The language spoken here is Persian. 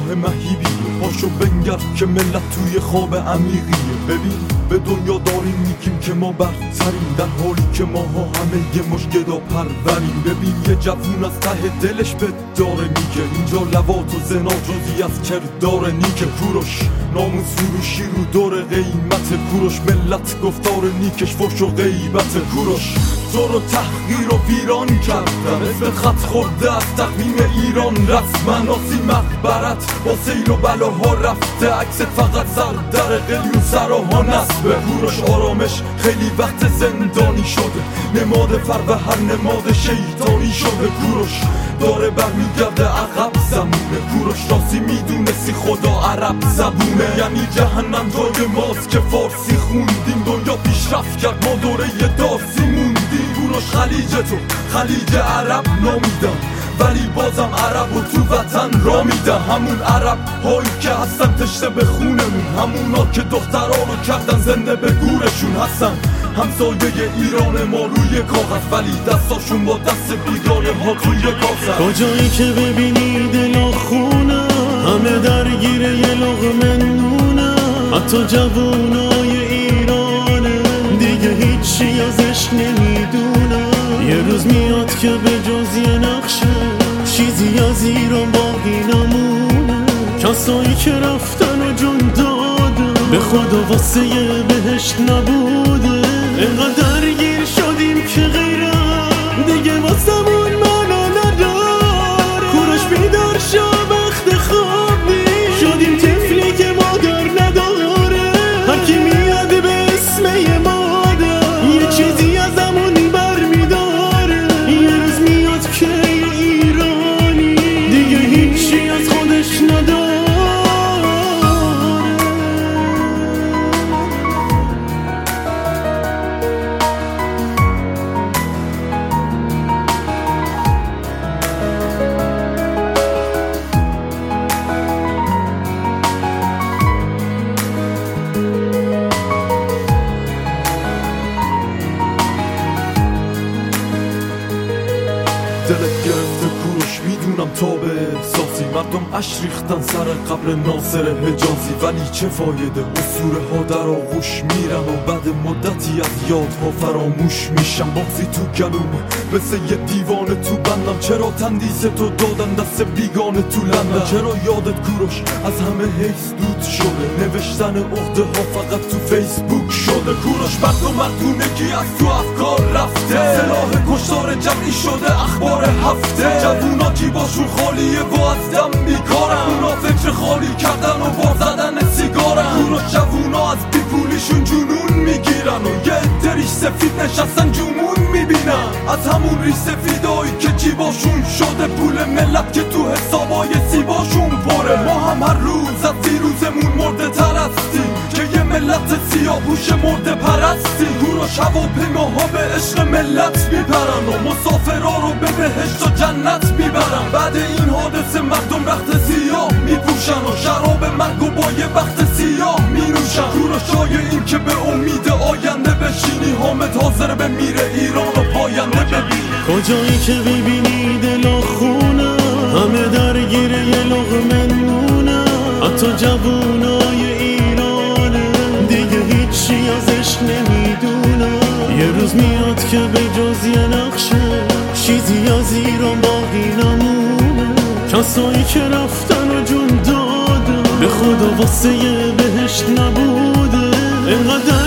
مهیبیه. پاشو بنگر که ملت توی خواب عمیقیه. ببین به دنیا داریم میگیم که ما برتریم، در حالی که ماها همه یه مش گدا پروریم. ببین یه جوون از ته دلش به داره میگه اینجا لواط و زنا جزی از کردار نیکه. کوروش ناموس فروشی رو دور قیمت. کوروش ملت گفتار نیکش فحش و غیبت. کوروش تو رو تحقیر و ویران کردن، اسم خط خورده از تقویم ایران رسما. آسی مقبرت با سیل و بلاها رفته، عکست فقط سر در قلیون سراها نصبه. کوروش آرامش خیلی وقت زندانی شده، نماد فر و هر نماد شیطانی شده. کوروش داره برمیگرده عقب زمونه. کوروش راستی میدونستی خدا عرب زبونه، یعنی جهنم جای ماست که فارسی خوندیم. دنیا پیشرفت کرد ما دوره دارسی موندیم. کوروش خلیج تو خلیج عرب نامیدم، ولی بازم عرب و تو وطن را میدم. همون عرب هایی که هستن تشنه به خونمون، همونا که دخترها رو کردن زنده به گورشون هستن. همسایه ایران ما روی کاغذ، ولی دستاشون با دست بیگانه ها توی گازن. کجایی که ببینی دلا خونه، همه درگیر یه لقمه نونه. حتی جوونای ایرانه دیگه هیچی ازش نمیدونه. یه روز میاد که به جز یه نقشه چیزی از ایران باقی نمونه. کسایی که رفتن و جون دادن به خدا واسه یه بهشت نبوده. اینقدر درگیر شدیم که غیره دیگه واسمون معنا نداره. کوروش بیدار شو وقت خواب نیست، شدیم طفلی که مادر نداره. هرکی میاد به اسم یه مادر یه چیزی ازمون برمیداره. یه روز میاد که ایرانی دیگه هیچی از خودش نداره. دلت گرفته کوروش میدونم تا به احساسی. مردم اش ریختن سر قبر ناصر حجازی، ولی چه فایده اسطوره ها در آغوش میرن و بعد مدتی از یادها فراموش میشن. بغضی تو گلومه مثل یه دیوانه تو بندم. چرا تندیس تو دادن دست بیگانه تو لندن؟ چرا یادت کوروش از همه حیث دود شده؟ نوشتن عقده ها فقط تو فیسبوک شده. کوروش مرد و مردونگی از تو افکار رفته، سلاح کشتار جمعی شده اخبار هفته. جوونا جیباشون خالیه و از دم بیکارن، اونا فکر خالی کردن و بار زدن سیگارن. کوروش جوونا از بیپولیشون جنون میگیرن و یه عده ریش سفید نشستن جمون میبینن. از همون ریش سفیدایی که جیباشون شده پول ملت که تو حسابای سیباشون پره. ما هم هر روز از دیروزمون مرده تر هستیم که یه ملت سیاه‌پوش مرده پرستیم. کوروش هواپیماها به عشق ملت میپرن و مسافرها رو به بهشت و جنت میبرن. بعد این حادثه مردم رخت سیاه میپوشن و شراب مرگ و با یه بخت سیاه مینوشن. کوروش جای این که به امید آینده بشینی، حامد حاضر به میره ایران و پاینده ببینی. کجایی که ببینی دلا خونه، همه درگیر یه لقمه نونه. حتی جوونای ایرانه دیگه هیچی ازش نمیدونه. یه روز میاد که به جز یه نقشه چیزی از ایران باقی نمونه. کسایی که رفتن و جون دادن به خدا واسه یه بهشت نبوده. اینقدر